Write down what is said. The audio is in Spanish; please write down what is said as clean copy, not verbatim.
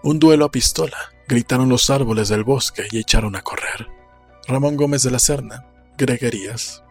Un duelo a pistola, gritaron los árboles del bosque y echaron a correr. Ramón Gómez de la Serna, Greguerías,